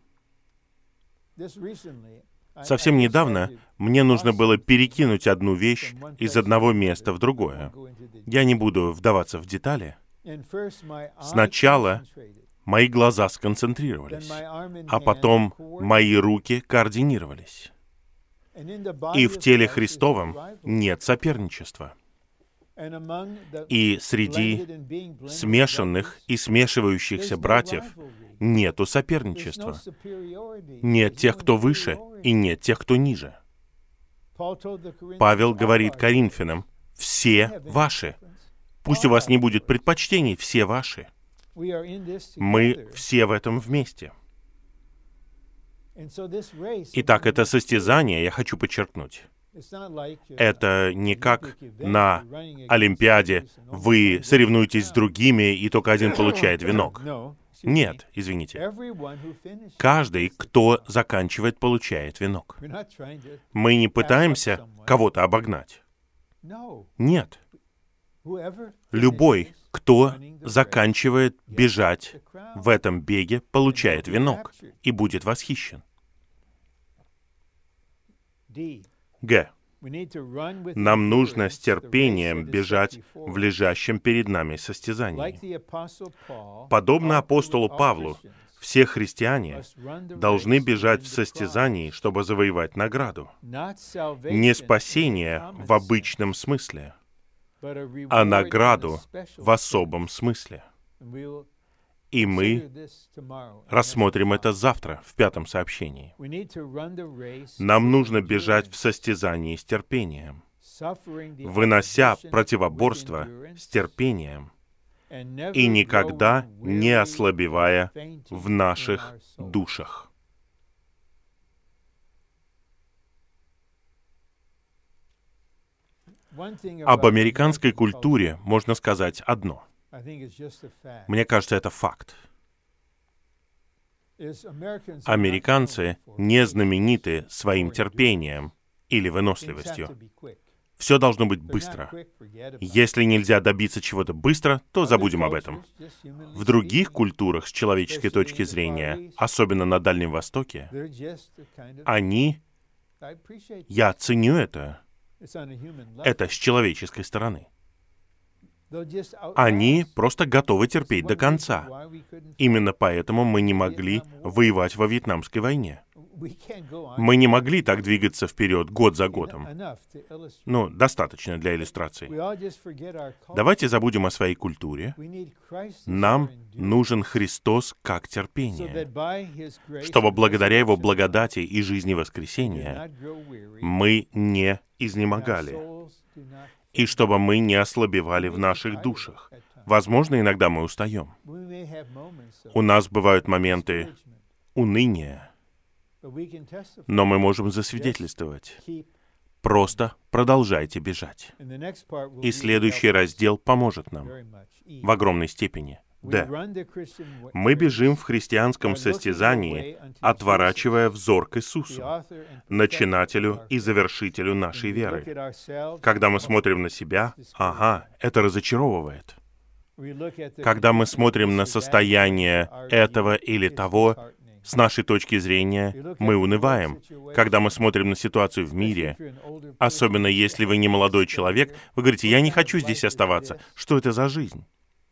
Совсем недавно мне нужно было перекинуть одну вещь из одного места в другое. Я не буду вдаваться в детали. Сначала мои глаза сконцентрировались, а потом мои руки координировались. И в теле Христовом нет соперничества. И среди смешанных и смешивающихся братьев нету соперничества. Нет тех, кто выше, и нет тех, кто ниже. Павел говорит Коринфянам, все ваши. Пусть у вас не будет предпочтений, все ваши. Мы все в этом вместе. Итак, это состязание, я хочу подчеркнуть. Это не как на Олимпиаде вы соревнуетесь с другими, и только один получает венок. Нет, извините. Каждый, кто заканчивает, получает венок. Мы не пытаемся кого-то обогнать. Нет. Любой, кто заканчивает бежать в этом беге, получает венок и будет восхищен. Г. Нам нужно с терпением бежать в лежащем перед нами состязании. Подобно апостолу Павлу, все христиане должны бежать в состязании, чтобы завоевать награду. Не спасение в обычном смысле, а награду в особом смысле. И мы рассмотрим это завтра, в пятом сообщении. Нам нужно бежать в состязании с терпением, вынося противоборство с терпением и никогда не ослабевая в наших душах. Об американской культуре можно сказать одно. Мне кажется, это факт. Американцы не знамениты своим терпением или выносливостью. Все должно быть быстро. Если нельзя добиться чего-то быстро, то забудем об этом. В других культурах, с человеческой точки зрения, особенно на Дальнем Востоке, они... Я ценю это. Это с человеческой стороны. Они просто готовы терпеть до конца. Именно поэтому мы не могли воевать во Вьетнамской войне. Мы не могли так двигаться вперед год за годом. Ну, достаточно для иллюстрации. Давайте забудем о своей культуре. Нам нужен Христос как терпение, чтобы благодаря Его благодати и жизни воскресения мы не изнемогали, и чтобы мы не ослабевали в наших душах. Возможно, иногда мы устаем. У нас бывают моменты уныния, но мы можем засвидетельствовать. Просто продолжайте бежать. И следующий раздел поможет нам в огромной степени. Д. Мы бежим в христианском состязании, отворачивая взор к Иисусу, начинателю и завершителю нашей веры. Когда мы смотрим на себя, ага, это разочаровывает. Когда мы смотрим на состояние этого или того, с нашей точки зрения, мы унываем. Когда мы смотрим на ситуацию в мире, особенно если вы не молодой человек, вы говорите, я не хочу здесь оставаться. Что это за жизнь?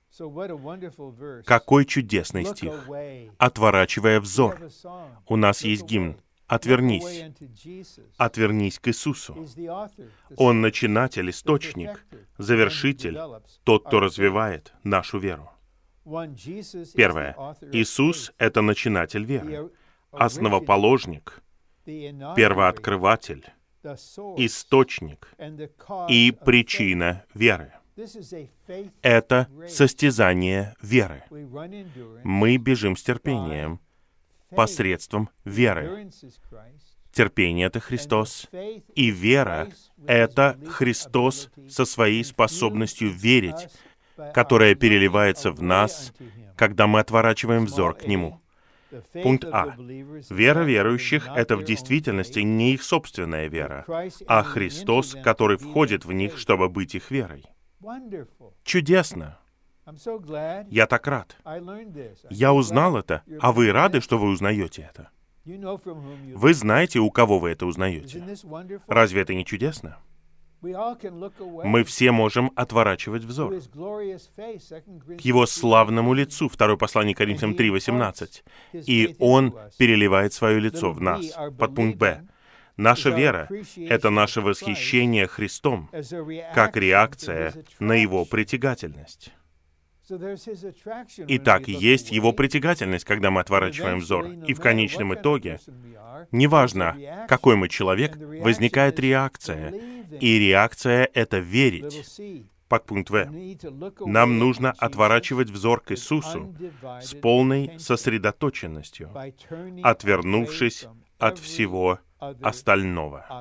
Какой чудесный стих. Отворачивая взор. У нас есть гимн. Отвернись. Отвернись к Иисусу. Он начинатель, источник, завершитель, тот, кто развивает нашу веру. Первое. Иисус — это начинатель веры, основоположник, первооткрыватель, источник и причина веры. Это состязание веры. Мы бежим с терпением посредством веры. Терпение — это Христос, и вера — это Христос со своей способностью верить, которая переливается в нас, когда мы отворачиваем взор к Нему. Пункт А. Вера верующих — это в действительности не их собственная вера, а Христос, который входит в них, чтобы быть их верой. Чудесно! Я так рад. Я узнал это, а вы рады, что вы узнаете это? Вы знаете, у кого вы это узнаете. Разве это не чудесно? Мы все можем отворачивать взор к Его славному лицу, второе послание Коринфянам три восемнадцать. И Он переливает свое лицо в нас. Подпункт Б. Наша вера — это наше восхищение Христом, как реакция на Его притягательность. Итак, есть его притягательность, когда мы отворачиваем взор. И в конечном итоге, неважно, какой мы человек, возникает реакция. И реакция — это верить. Подпункт В. Нам нужно отворачивать взор к Иисусу с полной сосредоточенностью, отвернувшись от всего остального.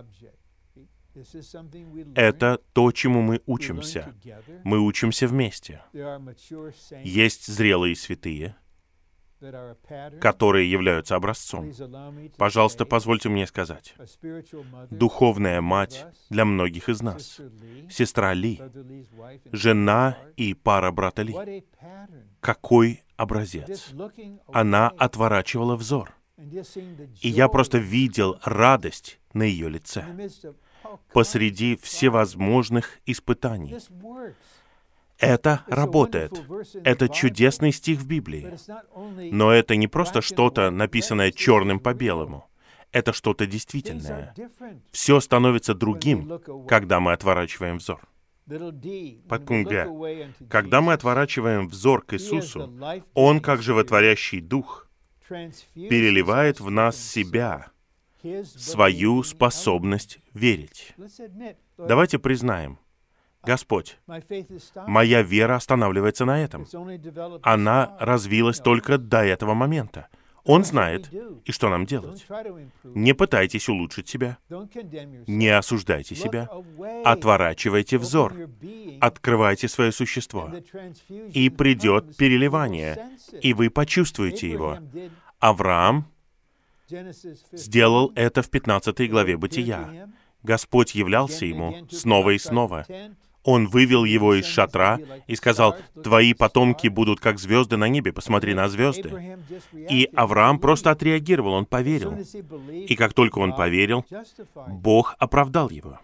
Это то, чему мы учимся. Мы учимся вместе. Есть зрелые святые, которые являются образцом. Пожалуйста, позвольте мне сказать. Духовная мать для многих из нас. Сестра Ли, жена и пара брата Ли. Какой образец! Она отворачивала взор. И я просто видел радость на ее лице посреди всевозможных испытаний. Это работает. Это чудесный стих в Библии. Но это не просто что-то, написанное черным по белому. Это что-то действительное. Все становится другим, когда мы отворачиваем взор. Подпункт Г. Когда мы отворачиваем взор к Иисусу, Он, как животворящий Дух, переливает в нас себя, свою способность верить. Давайте признаем, Господь, моя вера останавливается на этом. Она развилась только до этого момента. Он знает, и что нам делать. Не пытайтесь улучшить себя. Не осуждайте себя. Отворачивайте взор. Открывайте свое существо. И придет переливание, и вы почувствуете его. Авраам сделал это в пятнадцатой главе Бытия. Господь являлся ему снова и снова. Он вывел его из шатра и сказал: «Твои потомки будут как звезды на небе, посмотри на звезды». И Авраам просто отреагировал, он поверил. И как только он поверил, Бог оправдал его.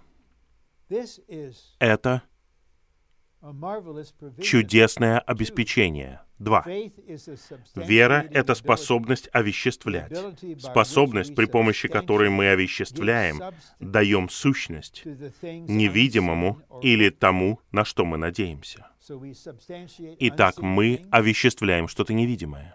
Это чудесное обеспечение. Два. Вера — это способность овеществлять. Способность, при помощи которой мы овеществляем, даем сущность невидимому или тому, на что мы надеемся. Итак, мы овеществляем что-то невидимое.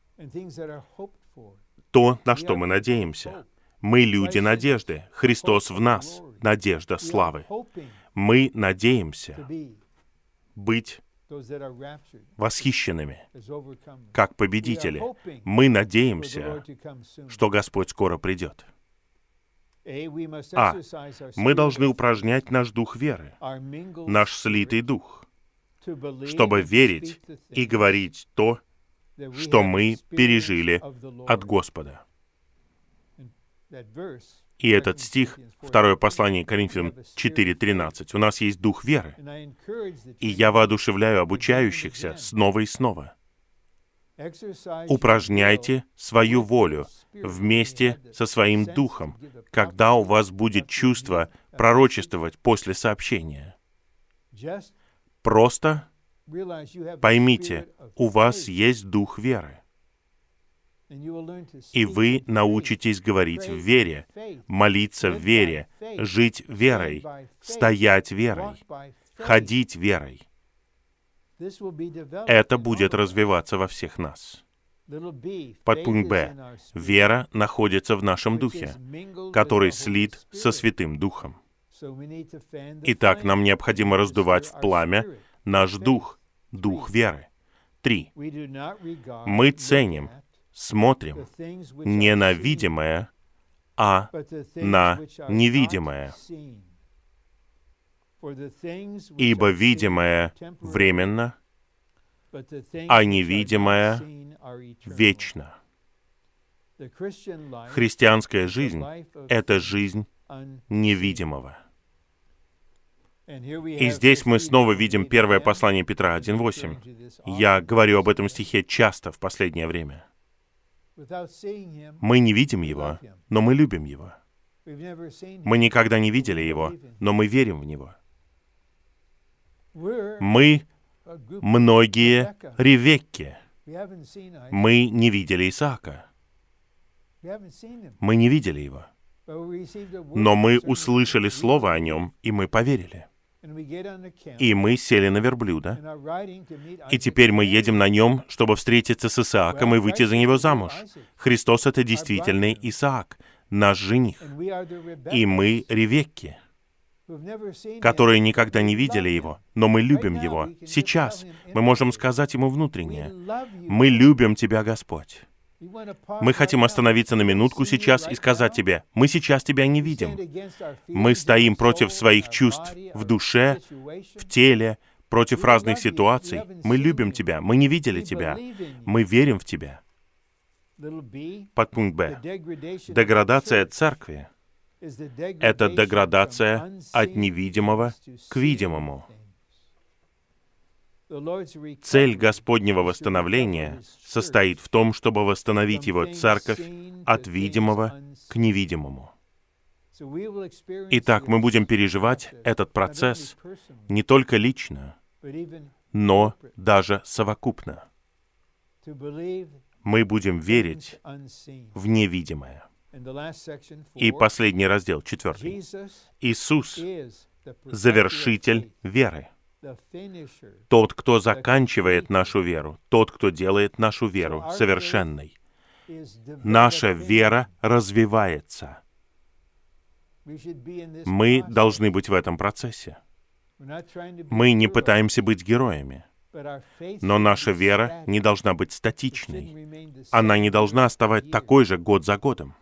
То, на что мы надеемся. Мы люди надежды. Христос в нас — надежда славы. Мы надеемся быть восхищенными, как победители. Мы надеемся, что Господь скоро придет. А. Мы должны упражнять наш дух веры, наш слитый дух, чтобы верить и говорить то, что мы пережили от Господа. И этот стих, второе послание Коринфянам четыре тринадцать. У нас есть дух веры. И я воодушевляю обучающихся снова и снова. Упражняйте свою волю вместе со своим духом, когда у вас будет чувство пророчествовать после сообщения. Просто поймите, у вас есть дух веры. И вы научитесь говорить в вере, молиться в вере, жить верой, стоять верой, ходить верой. Это будет развиваться во всех нас. Подпункт Б. Вера находится в нашем духе, который слит со Святым Духом. Итак, нам необходимо раздувать в пламя наш дух, дух веры. Три. Мы ценим, смотрим не на видимое, а на невидимое. Ибо видимое временно, а невидимое вечно. Христианская жизнь — это жизнь невидимого. И здесь мы снова видим первое послание Петра один восемь. Я говорю об этом стихе часто в последнее время. Мы не видим Его, но мы любим Его. Мы никогда не видели Его, но мы верим в Него. Мы многие Ревекки. Мы не видели Исаака. Мы не видели его. Но мы услышали слово о нем, и мы поверили. И мы сели на верблюда, и теперь мы едем на нем, чтобы встретиться с Исааком и выйти за него замуж. Христос — это действительный Исаак, наш жених. И мы Ревекки, которые никогда не видели Его, но мы любим Его. Сейчас мы можем сказать Ему внутренне: «Мы любим Тебя, Господь». Мы хотим остановиться на минутку сейчас и сказать Тебе: «Мы сейчас Тебя не видим. Мы стоим против своих чувств в душе, в теле, против разных ситуаций. Мы любим Тебя. Мы не видели Тебя. Мы верим в Тебя». Подпункт Б. Деградация церкви — это деградация от невидимого к видимому. Цель Господнего восстановления состоит в том, чтобы восстановить Его церковь от видимого к невидимому. Итак, мы будем переживать этот процесс не только лично, но даже совокупно. Мы будем верить в невидимое. И последний раздел, четвертый. Иисус — завершитель веры. Тот, кто заканчивает нашу веру, тот, кто делает нашу веру совершенной. Наша вера развивается. Мы должны быть в этом процессе. Мы не пытаемся быть героями, но наша вера не должна быть статичной. Она не должна оставать такой же год за годом.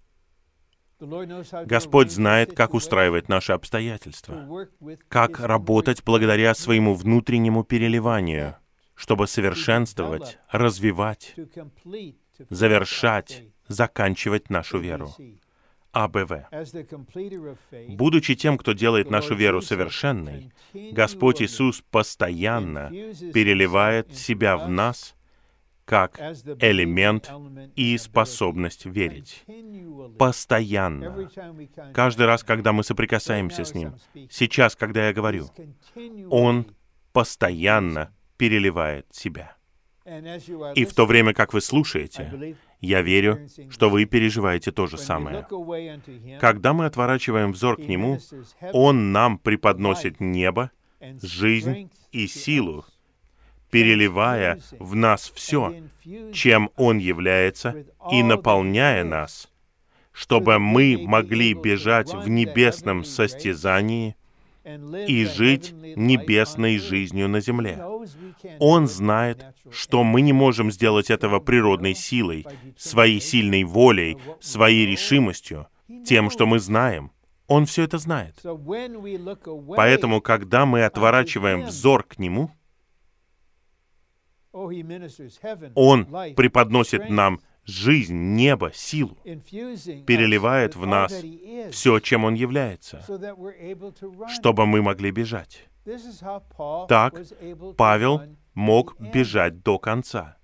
Господь знает, как устраивать наши обстоятельства, как работать благодаря своему внутреннему переливанию, чтобы совершенствовать, развивать, завершать, заканчивать нашу веру. А Б В. Будучи тем, кто делает нашу веру совершенной, Господь Иисус постоянно переливает себя в нас как элемент и способность верить. Постоянно. Каждый раз, когда мы соприкасаемся с Ним, сейчас, когда я говорю, Он постоянно переливает себя. И в то время, как вы слушаете, я верю, что вы переживаете то же самое. Когда мы отворачиваем взор к Нему, Он нам преподносит небо, жизнь и силу, переливая в нас все, чем Он является, и наполняя нас, чтобы мы могли бежать в небесном состязании и жить небесной жизнью на земле. Он знает, что мы не можем сделать этого природной силой, своей сильной волей, своей решимостью, тем, что мы знаем. Он все это знает. Поэтому, когда мы отворачиваем взор к Нему, Он преподносит нам жизнь, небо, силу, переливает в нас все, чем Он является, чтобы мы могли бежать. Так Павел мог бежать до конца.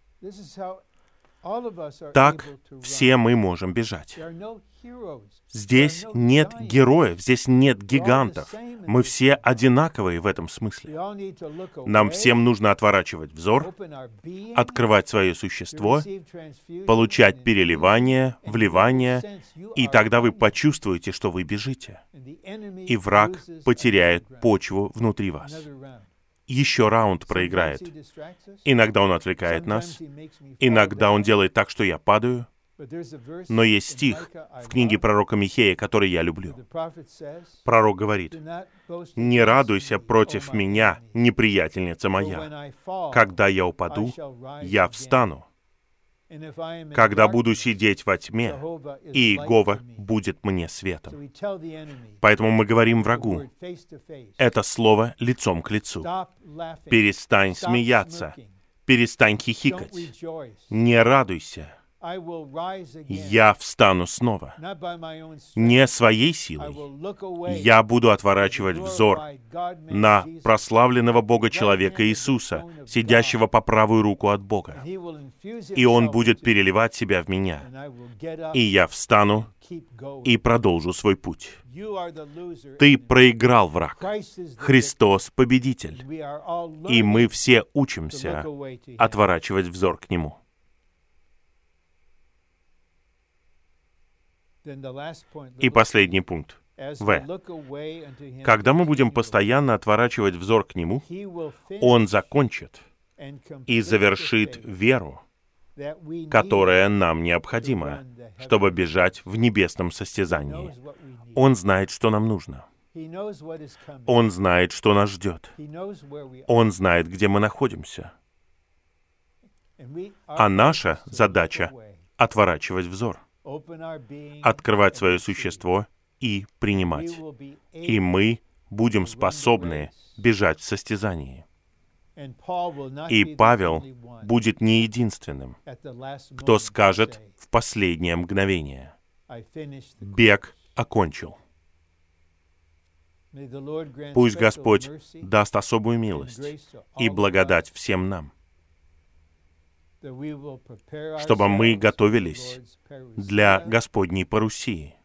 Так все мы можем бежать. Здесь нет героев, здесь нет гигантов. Мы все одинаковые в этом смысле. Нам всем нужно отворачивать взор, открывать свое существо, получать переливание, вливание, и тогда вы почувствуете, что вы бежите. И враг потеряет почву внутри вас. Еще раунд проиграет. Иногда он отвлекает нас, иногда он делает так, что я падаю. Но есть стих в книге пророка Михея, который я люблю. Пророк говорит: «Не радуйся против меня, неприятельница моя. Когда я упаду, я встану. Когда буду сидеть во тьме, и Иегова будет мне светом». Поэтому мы говорим врагу это слово лицом к лицу. Перестань смеяться, перестань хихикать, не радуйся. Я встану снова. Не своей силой. Я буду отворачивать взор на прославленного Бога-человека Иисуса, сидящего по правую руку от Бога. И Он будет переливать себя в меня. И я встану и продолжу свой путь. Ты проиграл, враг. Христос — победитель. И мы все учимся отворачивать взор к Нему. И последний пункт. В. Когда мы будем постоянно отворачивать взор к Нему, Он закончит и завершит веру, которая нам необходима, чтобы бежать в небесном состязании. Он знает, что нам нужно. Он знает, что нас ждет. Он знает, где мы находимся. А наша задача — отворачивать взор, открывать свое существо и принимать. И мы будем способны бежать в состязании. И Павел будет не единственным, кто скажет в последнее мгновение: «Бег окончил». Пусть Господь даст особую милость и благодать всем нам, чтобы мы готовились для Господней парусии,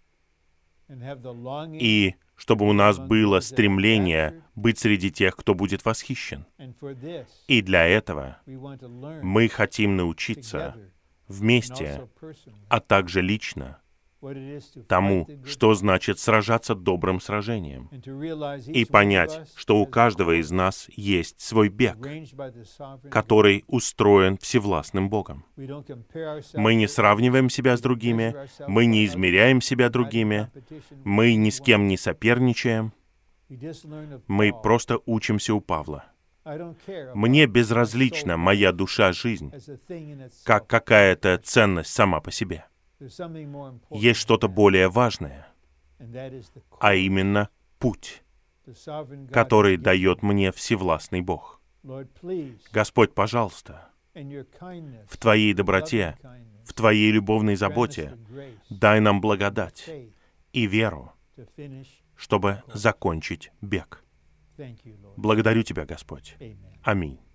и чтобы у нас было стремление быть среди тех, кто будет восхищен. И для этого мы хотим научиться вместе, а также лично, тому, что значит сражаться добрым сражением, и понять, что у каждого из нас есть свой бег, который устроен всевластным Богом. Мы не сравниваем себя с другими, мы не измеряем себя другими, мы ни с кем не соперничаем, мы просто учимся у Павла. Мне безразлична моя душа, жизнь, как какая-то ценность сама по себе. Есть что-то более важное, а именно путь, который дает мне всевластный Бог. Господь, пожалуйста, в Твоей доброте, в Твоей любовной заботе дай нам благодать и веру, чтобы закончить бег. Благодарю Тебя, Господь. Аминь.